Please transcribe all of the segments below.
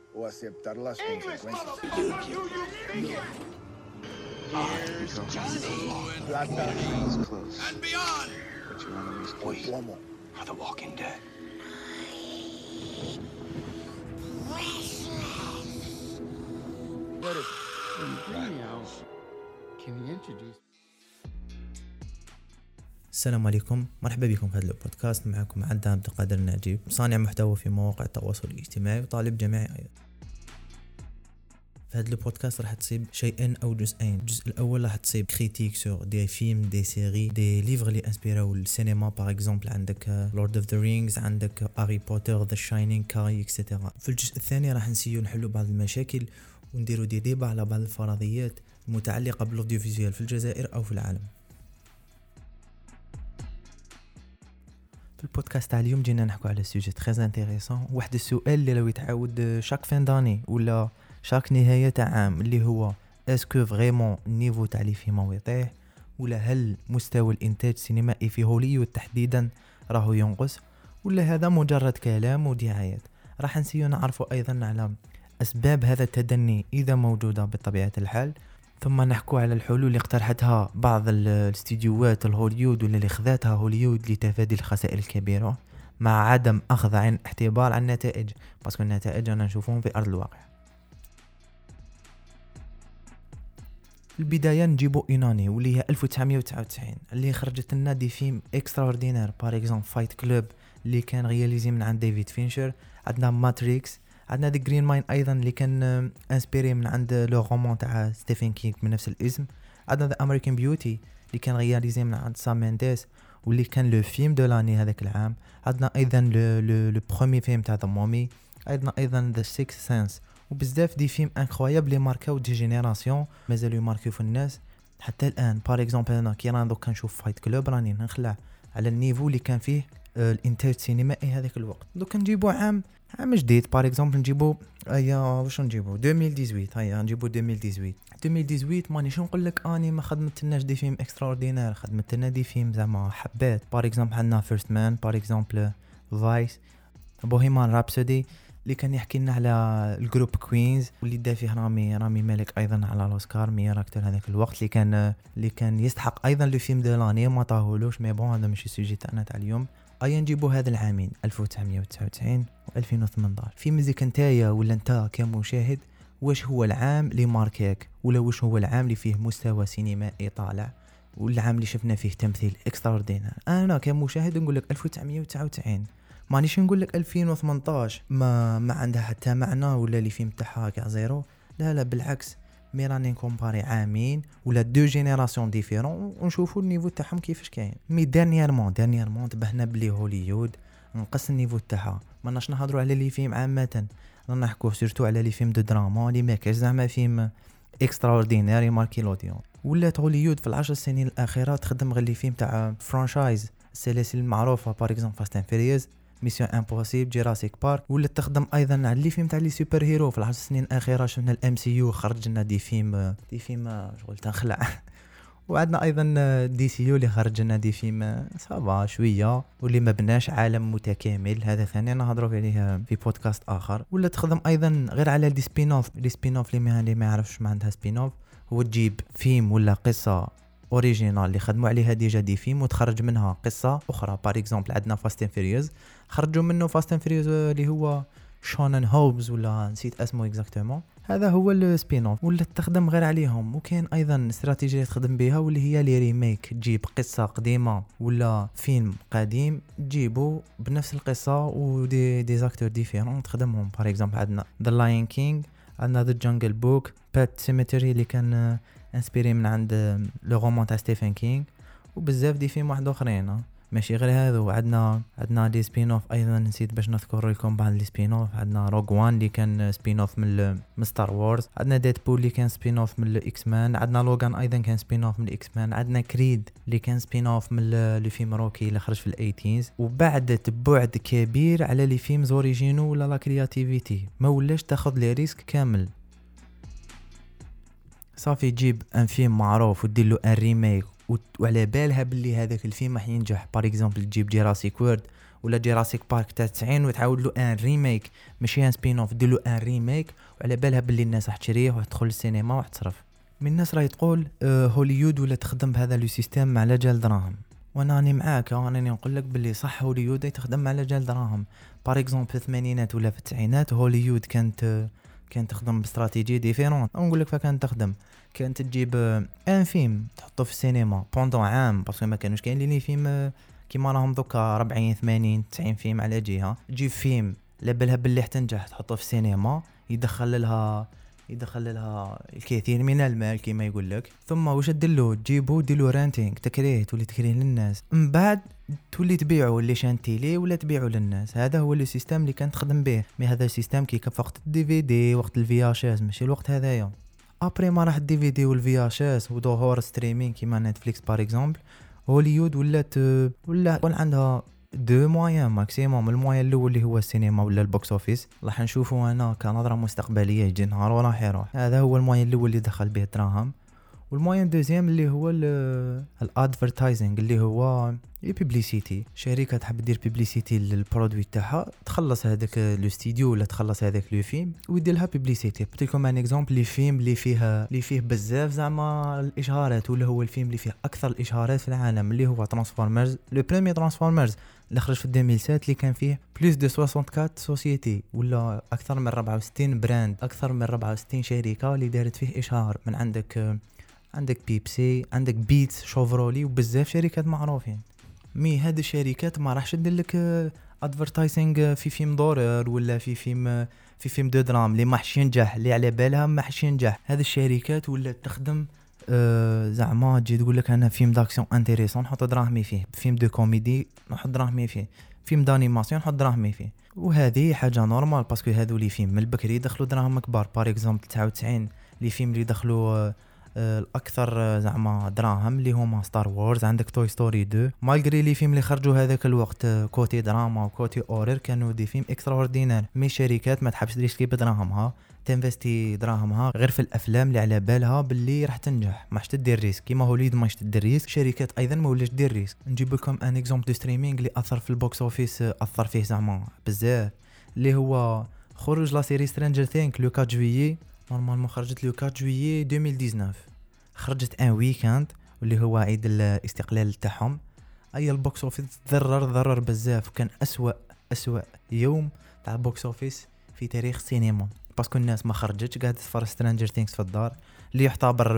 o aceptar las consecuencias. Here's Johnny. Plata He's close. And beyond. But your enemy's o we plomo. are the walking dead. Can you introduce? السلام عليكم، مرحبا بكم في هذا البودكاست. معكم عبد القادر النجيب، صانع محتوى في مواقع التواصل الاجتماعي وطالب جامعي أيضا. في هذا البودكاست راح تصيب شيئين او جزئين. الجزء الاول راح تصيب كريتيك سور دي فيلم، دي سيري، دي ليفر اللي انسبيراو السينما. باغ اكزومبل عندك لورد اوف ذا رينجز، عندك هاري بوتر، ذا شاينينغ، كاي اكسترا. في الجزء الثاني راح نسيو نحلو بعض المشاكل ونديرو دي ديبا على بعض الفرضيات المتعلقه بالاوديو فيزيوال في الجزائر او في العالم. في البودكاست تاع اليوم جينا نحكو على سوجي تري انتريسون، واحد السؤال اللي لو يتعاود شاك فين داني ولا شاك نهاية تاع عام، اللي هو اسكو فريمون النيفو تاع لي فيلم يطيح، ولا هل مستوى الانتاج السينمائي في هوليوود تحديدا راهو ينقص، ولا هذا مجرد كلام ودعايات. راح نسيو نعرفوا ايضا على اسباب هذا التدني اذا موجودة بطبيعة الحال، ثم نحكو على الحلول اللي اقترحتها بعض الاستديوهات الهوليود واللي اللي خذاتها هوليود لتفادي الخسائر الكبيرة، مع عدم اخذ عين اعتبار عن النتائج، باسكو النتائج انا نشوفهم في ارض الواقع. البداية نجيبو إيناني واللي هي 1999 اللي خرجت لنا دي فيلم اكستراوردينير. باغ اكزومبل فايت كلوب اللي كان رياليزي من عند ديفيد فينشر، عندنا ماتريكس، عندنا دي جرين ماين ايضا اللي كان انسبيري من عند لو رومان تاع ستيفن كينغ من نفس الاسم، عندنا ذا امريكان بيوتي اللي كان رياليزي من عند سام مينديس واللي كان لو فيلم دو لاني هذاك العام، عندنا ايضا لو بروميير فيلم تاع ذا مومي، ايضا ذا سيكس سنس، وبزاف دي فيلم انكرويابل اللي ماركاو دي جينيراسيون مازالوا يماركيو في الناس حتى الان. باغ اكزومبل انا كي راه دوك كنشوف فايت كلوب راني نخلع على النيفو اللي كان فيه الانتاج السينمائي هذاك الوقت. دوك نجيبو عام جديد، باغ اكزومبل نجيبو واش نجيبو 2018، هيا نجيبو 2018 مانيش نقول لك اني ما خدمتلناش دي فيلم اكستراوردينير، خدمتلنا دي فيلم زعما حبات. باغ اكزومبل عندنا فيرست مان، باغ اكزومبل فايس، بوهيمان رابسودي اللي كان يحكي لنا على الجروب كوينز واللي دا فيه رامي مالك ايضا على الاوسكار ميور اكتر هذاك الوقت، اللي كان يستحق ايضا لو فيلم دو لاني ما طاهولوش. مي بون هذا ماشي السوجي تاعنا تاع اليوم. ايا نجيبو هذا العامين 1999 و2018. في مزيك نتايا ولا نتا كمشاهد، واش هو العام اللي ماركاك، ولا واش هو العام اللي فيه مستوى سينمائي طالع، والعام اللي شفنا فيه تمثيل اكستراوردينير؟ انا كمشاهد نقول لك 1999، مانيش نقول لك 2018 ما عندها حتى معنى ولا لي فيلم تاعها كاع زيرو. لا بالعكس، مي راني نكومباري عامين ولا دو جينيراسيون ديفيرون ونشوفوا النيفو تاعهم كيفاش كاين. مي دانييرمون تبهنا بلي هوليود نقص النيفو تاعها. ماناش نهضروا على لي فيلم عامه، رانا نحكوا سورتو على لي فيلم دو دراما اللي ما كاش زعما فيلم اكستراوردينير ماركي لوديون. ولا هوليود في العشر سنين الاخيره تخدم غير لي فيلم تاع فرانشايز السلاسل المعروفه، باغ اكزومبل فاست اند فيريوس، ميسيون امبوسيبل، جوراسيك بارك. ولا تخدم ايضا على لي فيلم تاع لي سوبر هيرو. في العشر سنين الاخيره شفنا الام سي يو خرج لنا دي فيلم شغل تنخلع وعندنا ايضا دي سي يو اللي خرج لنا دي فيلم صافا شويه واللي ما بناش عالم متكامل. هذا ثاني نهضروا عليه في بودكاست اخر. ولا تخدم ايضا غير على دي سبين اوف اللي ما يعرفش ما عندها سبين اوف، هو تجيب فيلم ولا قصه اوريجينال اللي خدموا عليها ديجا دي فيلم وتخرج منها قصه اخرى. باغ اكزومبل عندنا فاست اند فيريوس، خرجوا منه فاست اند فيريوس اللي هو شونن هوبز ولا نسيت اسمه اكزاكتومون، هذا هو السبين اوف. ولا تخدم غير عليهم. وكاين ايضا استراتيجيه تخدم بها واللي هي لي ريميك، تجيب قصه قديمه ولا فيلم قديم تجيبه بنفس القصه ودي زاكتور ديفيرون تخدمهم. باغ اكزومبل عندنا ذا لاين كينج، عندنا ذا جانجل بوك، بات سيميتري اللي كان انسبيري من عند لو رومان تاع ستيفن كينغ، وبزاف دي فيلم واحد اخرين ماشي غير هذا. عندنا دي سبين اوف ايضا نسيت باش نذكر لكم بعض لي سبين اوف. عندنا روغ وان اللي كان سبين اوف من ستار وورز، عندنا ديدبول اللي كان سبين اوف من الاكس مان، عندنا لوغان ايضا كان سبين اوف من الاكس مان، عندنا كريد اللي كان سبين اوف من لي فيلم روكي اللي خرج في الايتينز. وبعد بعد كبير على لي فيلم اوريجينو ولا لا كرياتيفيتي، ما ولاش تاخذ لي ريسك كامل. صافي تجيب ان فيلم معروف ودير له ان ريميك وعلى بالها باللي هذاك الفيلم راح ينجح. باغ اكزومبل تجيب جوراسيك وورد ولا جيراسيك بارك تاع 90 وتعاود له ان ريميك ماشي ان سبين اوف، دير له ان ريميك وعلى بالها باللي الناس راح تشريه وتدخل السينما وتصرف. من الناس راهي تقول هوليوود ولا تخدم بهذا لو سيستيم على جال دراهم، وانا راني معاك، راني نقول لك باللي صح هوليوود تخدم على جال دراهم. بار اكزومبل في الثمانينات ولا في التسعينات هوليوود كانت تخدم باستراتيجي ديفيرون. نقول لك فكانت تخدم، كانت تجيب ان فيلم تحطه في السينما بوندون عام، باسكو ما كانوش كاين لي فيلم كيما راهم دوكا 40 80 90 فيلم على جهه. تجيب فيلم لبلها باللي حتنجح تحطه في السينما، يدخل لها الكثير من المال كما يقول لك. ثم واش ديرلو تجيبو ديرلو رانتينغ، تولي تكريه للناس، من بعد تولي تبيعه اللي شانتيلي ولا تبيعه للناس. هذا هو السيستم اللي كانت تخدم به. مي هذا السيستم كي كان وقت الدي في دي، وقت الفي اش اس، ماشي الوقت هذايا. ابري ما راح الدي في دي والفي اش اس وظهور ستريمينغ كيما نتفليكس بار اكزومبل، هوليوود ولا عندها دو موان ماكسيموم. الموان الاول اللي هو السينما ولا البوكس اوفيس، راح نشوفه انا كنظره مستقبليه يجي نهار وراح يروح. هذا هو الموان الاول اللي دخل به الدراهم. والموان دوزيام اللي هو الادفرتايزنج، اللي هو الببليسيتي. شركه تحب دير ببليسيتي للبرودوي تاعها، تخلص هذاك لو ستوديو ولا تخلص هذاك لو فيلم ويدير لها ببليسيتي. بتيكم ان اكزامبل لي فيلم اللي فيه بزاف زعما الاشهارات، ولا هو الفيلم اللي فيه اكثر الاشهارات في العالم اللي هو ترانسفورمرز. لو بريمير ترانسفورمرز اللي خرج في 2007 اللي كان فيه بلوس دو 64 سوسيتي ولا اكثر من 64 براند، اكثر من 64 شركه اللي دارت فيه اشهار. من عندك بيبسي، عندك بيتس، شوفرولي، وبزاف شركات معروفين. مي هاد الشركات ما راحش تدير لك ادفرتايزنج في فيلم دورر ولا في فيلم دو درام اللي ما حش ينجح، اللي على بالها ما حش ينجح. هاد الشركات ولا تخدم زعما تجي تقول لك انا فيلم داكسيون انتريسون نحط دراهمي فيه، فيلم دو كوميدي نحط دراهمي فيه، فيلم دانيماسيون نحط دراهمي فيه. وهذه حاجه نورمال باسكو هذو لي فيلم من البكري يدخلوا دراهم كبار. بار اكزومبل 99 لي فيلم اللي دخلوا الاكثر زعما دراهم اللي هما ستار وورز، عندك توي ستوري 2. مالغري لي فيلم اللي خرجوا هذاك الوقت كوتي دراما وكوتي اورير كانوا دي فيلم اكسترا اوردينير. مي شركات ما تحبش تريسكي بدراهمها، تنفستي دراهمها غير في الافلام اللي على بالها باللي راح تنجح، ماش تدير ريسك. كيما هوليود ماش تدير ريسك، شركات ايضا ما ولاش تدير ريسك. نجيب لكم ان اكزامبل دو ستريمينغ اللي اثر في البوكس اوفيس، اثر فيه زعما بزاف، اللي هو خروج لا سيري سترينجر ثينك لو 4 جويي. نورمالمون خرجت لو 4 جويي 2019، خرجت ان ويكاند واللي هو عيد الاستقلال تاعهم. اي البوكس اوفيس ضرر بزاف، وكان اسوا يوم تاع البوكس اوفيس في تاريخ السينما، باسكو الناس ما خرجتش قاعده تفرج سترينجر ثينكس في الدار، اللي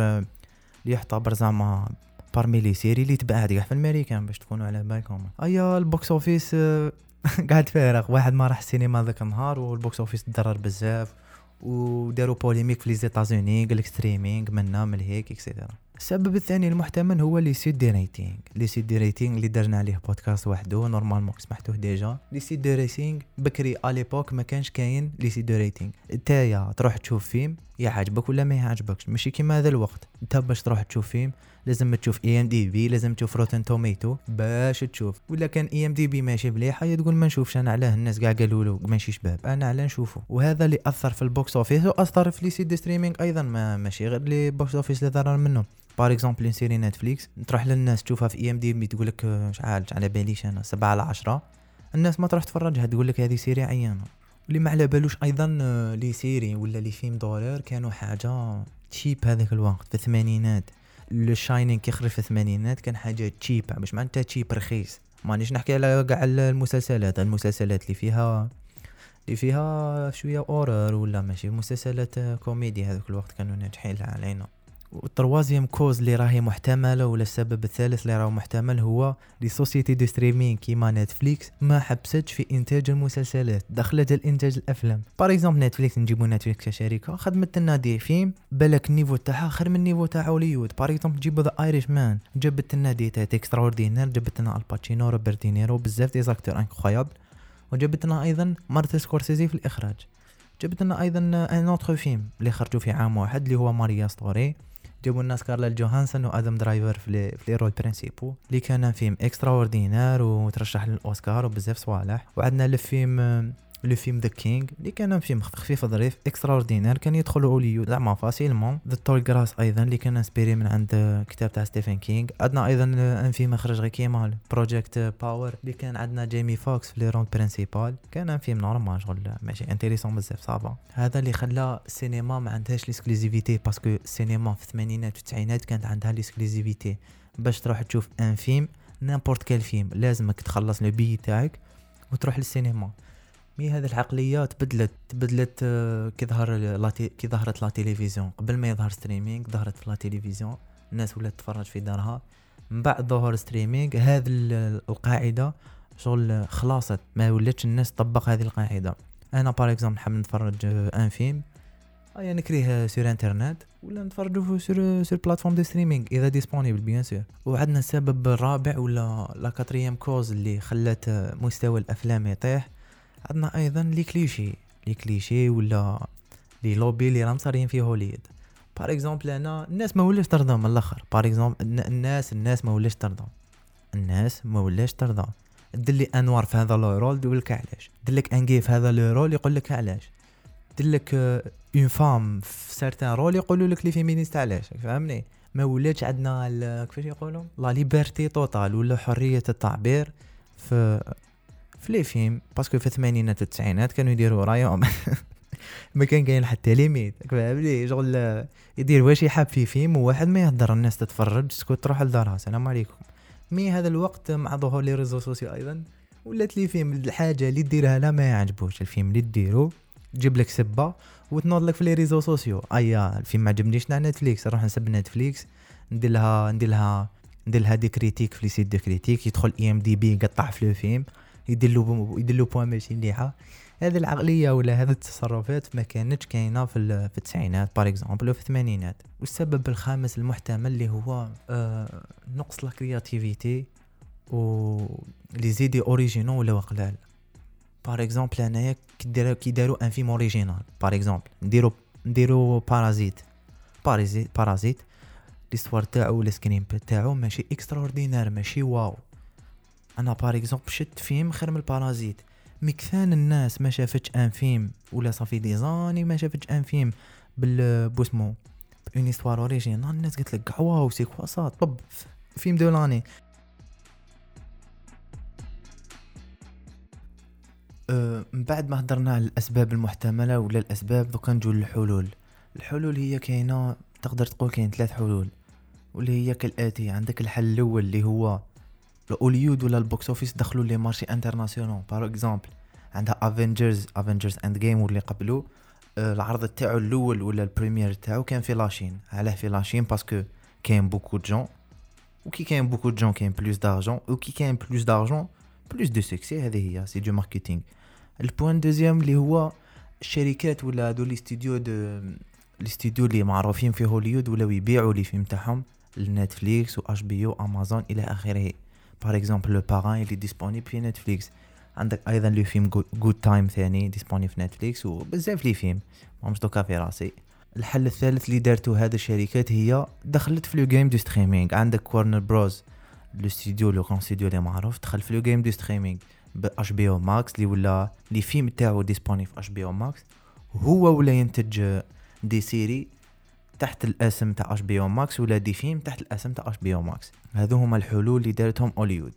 يعتبر زعما بارمي لي سيري اللي تبعت كاع في الامريكان باش تكونوا على بالكم. اي البوكس اوفيس قاعد فارغ، واحد ما راح السينما ذاك النهار والبوكس اوفيس تضرر بزاف، وداروا بوليميك في لي زيتازوني قال لك ستريمينغ منا من هيك اكسيتيرا. السبب الثاني المحتمل هو لي سيت دي ريتينغ اللي درنا عليه بودكاست وحده، نورمالمون سمحتوه ديجا. لي سيت دي ريتينغ بكري اليبوك ما كانش كاين لي سيت دي ريتينغ. نتايا تروح تشوف فيلم يعجبك ولا ما يعجبكش، ماشي كيما هذا الوقت انت باش تروح تشوف فيلم لازم تشوف IMDb، لازم تشوف روتن توميتو باش تشوف. ولا كان IMDb ماشي مليحه تقول ما نشوفش انا، علاه الناس كاع قالوا له ماشي شباب، انا علاه نشوفه. وهذا اللي اثر في البوكس اوفيس واثر في لي سيت دي ستريمينغ ايضا، ماشي غير لي بوكس اوفيس اللي ضرر منه. بار اكزومبل سيري نتفليكس تروح للناس تشوفها في IMDb تقول لك شحال على باليش انا 7/10، الناس ما تروح تفرجها تقول لك هذه سيري عيانه. واللي ما على بالوش ايضا لي سيري ولا لي فيلم دولار كانوا حاجه تشيب هذاك الوقت في الثمانينات. لو شاينينغ كيخرج في الثمانينات كان حاجه تشيب، باش معناتها تشيب رخيص. مانيش نحكي على كاع المسلسلات اللي فيها شويه اورر ولا ماشي مسلسلات كوميدي هذاك الوقت كانوا ناجحين علينا. والتروازيام كوز اللي راهي محتمله ولا السبب الثالث اللي راه محتمل هو لي سوسيتي دو ستريمينغ كيما نتفليكس ما حبستش في انتاج المسلسلات، دخلت الانتاج الافلام. بار اكزومبل نتفليكس، نجيبو نتفليكس كشركه خدمت لنا دي فيلم بالك النيفو تاعها خير من النيفو تاع هوليوود. بار اكزومبل نجيبو ذا ايريش مان، جبت لنا دي تاع اكسترا اوردينير، جبت لنا الباتشينو، روبرت دينيرو، بزاف دي زاكتور انكرويابل. وجبت لنا ايضا مارتن سكورسيزي في الاخراج. جبت لنا ايضا ان اوتر فيلم اللي خرجوا في عام واحد اللي هو ماريا ستوري، جابوا الناس سكارلت جوهانسون وادم درايفر في لي رول برينسيبو، اللي كان فيلم اكسترا اوردينير وترشح للاوسكار وبزاف صوالح. وعندنا الفيلم لو فيلم ذا كينغ اللي كان فيلم خفيف ظريف اكسترا اوردينير، كان يدخل هوليوود زعما فاسيلمون. ذا تول جراس ايضا اللي كان انسبيري من عند كتاب تاع ستيفن كينغ. عندنا ايضا ان فيلم خرج غير كيما بروجيكت باور اللي كان عندنا جيمي فوكس في لي رول برينسيبال، كان ان فيلم نورمال شغل ماشي انتريسون بزاف صافا. هذا اللي خلى السينما ما عندهاش ليكسكلوزيفيتي، باسكو السينما في الثمانينات والتسعينات كانت عندها ليكسكلوزيفيتي. باش تروح تشوف ان فيلم نيمبورت كال فيلم لازمك تخلص لو بي تاعك وتروح للسينما. مي هذه العقليه تبدلت كي ظهرت لا تلفزيون. قبل ما يظهر ستريمينغ ظهرت في لا تلفزيون، الناس ولات تتفرج في دارها. من بعد ظهور ستريمينغ هذه القاعده شغل خلاصت، ما ولاتش الناس تطبق هذه القاعده. انا بار اكزومبل حاب نتفرج ان فيلم يعني نكريه سور انترنت ولا نتفرجوا سور بلاتفورم دو ستريمينغ اذا ديسپونيبل بيان سور. وعندنا السبب الرابع ولا لا كاتريام كوز اللي خلات مستوى الافلام يطيح. عندنا ايضا لي كليشي ولا لي لوبي اللي راهم صارين في هوليوود. بار اكزومبل انا الناس ما ولاش ترضى من الاخر. بار اكزومبل الناس ما ولاش ترضى. دلي انوار في هذا لو رول يقول لك علاش، دلك انغي في هذا لو رول يقول لك علاش، دلك اون فام في سيرتان رول يقولوا لك لي فيمينيست علاش. فهمني؟ ما ولاتش عندنا كيفاش يقولوا لا ليبرتي توتال ولا حريه التعبير في لي فيلم. باسكو في الثمانينات والتسعينات كانوا يديروا رايهم ما كان كاين حتى ليميت. فهمني؟ شغل يدير واش يحب في فيلم وواحد ما يهضر، الناس تتفرج سكوت تروح لدارها السلام عليكم. مي هذا الوقت مع ظهور لي ريزو سوسيو ايضا ولات لي فيلم الحاجه اللي ديرها لا ما يعجبوش الفيلم اللي ديرو تجيب لك سبه وتنوض لك في لي ريزو سوسيو. ايا الفيلم ما عجبنيش على نتفليكس نروح نسب نتفليكس ندير لها دي كريتيك في لي سيت دو كريتيك، يدخل اي ام دي بي يقطع في لو فيلم يدير له بوين ماشي مليحه. هذه العقليه ولا هذه التصرفات ما كانتش كاينه في التسعينات بار اكزومبل وفي الثمانينات. والسبب الخامس المحتمل اللي هو نقص لا كرياتيفيتي و لي زيدي اوريجينو ولا قلال. بار اكزومبل انايا كي داروا ان فيلم اوريجينال بار اكزومبل نديرو بارازيت ليستوار تاعو ولا سكرينبل تاعو ماشي اكسترا اوردينير ماشي واو. انا بار اكزومبل شفت فيلم خير من البارازيت. مكثان الناس ما شافتش ان فيلم ولا صافي ديزاني ما شافتش ان فيلم بوسمو اون هيستوار اوريجينال. الناس قالت لك واو سي كوا صا طب فيلم دو لاني. من بعد ما هضرنا على الاسباب المحتمله ولا الاسباب دوكا نجو للحلول. الحلول هي كاينه، تقدر تقول كاين 3 حلول واللي هي كالاتي. عندك الحل الاول اللي هو هوليوود ولا البوكس اوفيس دخلوا لي مارشي انترناسيونال. بار اكزومبل عندها افنجرز اند جيم واللي قبلوا العرض تاعو الاول ولا البريمير تاعو كان في لاشين. علاه في لاشين؟ باسكو كاين بوكو جون، وكي كاين بوكو جون كاين بلوس دارجون، وكي كاين بلوس دارجون بلوس دو سكسي. هذه هي سي دو ماركتينغ. البوين دوزيام اللي هو الشركات ولا هادو لي ستوديو اللي معروفين في هوليوود ولا يبيعوا لي فيلم تاعهم لنتفليكس و اش بي او امازون الى اخره. بار اكزومبل لو باران اللي ديسپونيبل في نتفليكس. عندك ايضا لو فيلم جود تايم ثاني ديسپونيبل في نتفليكس وبزاف لي فيلم ماهمش دوكا في راسي. الحل الثالث اللي دارتو هاد الشركات هي دخلت في لو جيم دو ستريمينغ. عندك وارنر بروز لو ستوديو لو كون ستوديو اللي معروف دخل في لو جيم دو ستريمينغ باش بي او ماكس اللي ولا لي فيلم تاعو ديسپونيبل في اش بي او ماكس. هو ولا ينتج دي سيري تحت الاسم تاع اش بي او ماكس ولا دي فيلم تحت الاسم تاع اش بي او ماكس. هذو هما الحلول اللي دارتهم هوليوود.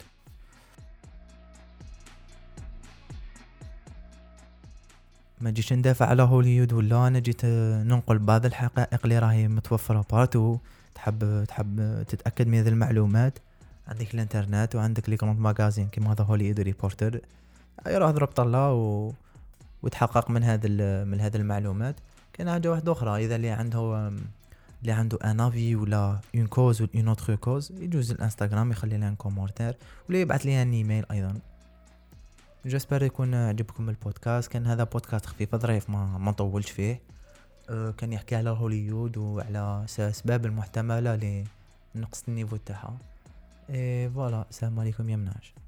ما جيتش ندافع على هوليوود ولا انا جيت ننقل بعض الحقائق اللي راهي متوفره بارتو. تحب تتاكد من هذه المعلومات عندك الانترنت وعندك لي كروند ماغازين كيما هذا هوليوود ريبورتر. روح ضرب طله وتحقق من هذه المعلومات. كاين حاجه واحده اخرى، اذا اللي عنده ان افي ولا اون كوز ولا اون اوتر كوز يجوز الانستغرام يخلي لنا كومونتير ولا يبعث لي ان ايميل ايضا. جسبر يكون عجبكم البودكاست. كان هذا بودكاست خفيف ظريف ما طولش فيه. كان يحكي على هوليوود وعلى اسباب المحتمله لنقص النيفو تاعها. فوالا السلام عليكم يا مناش.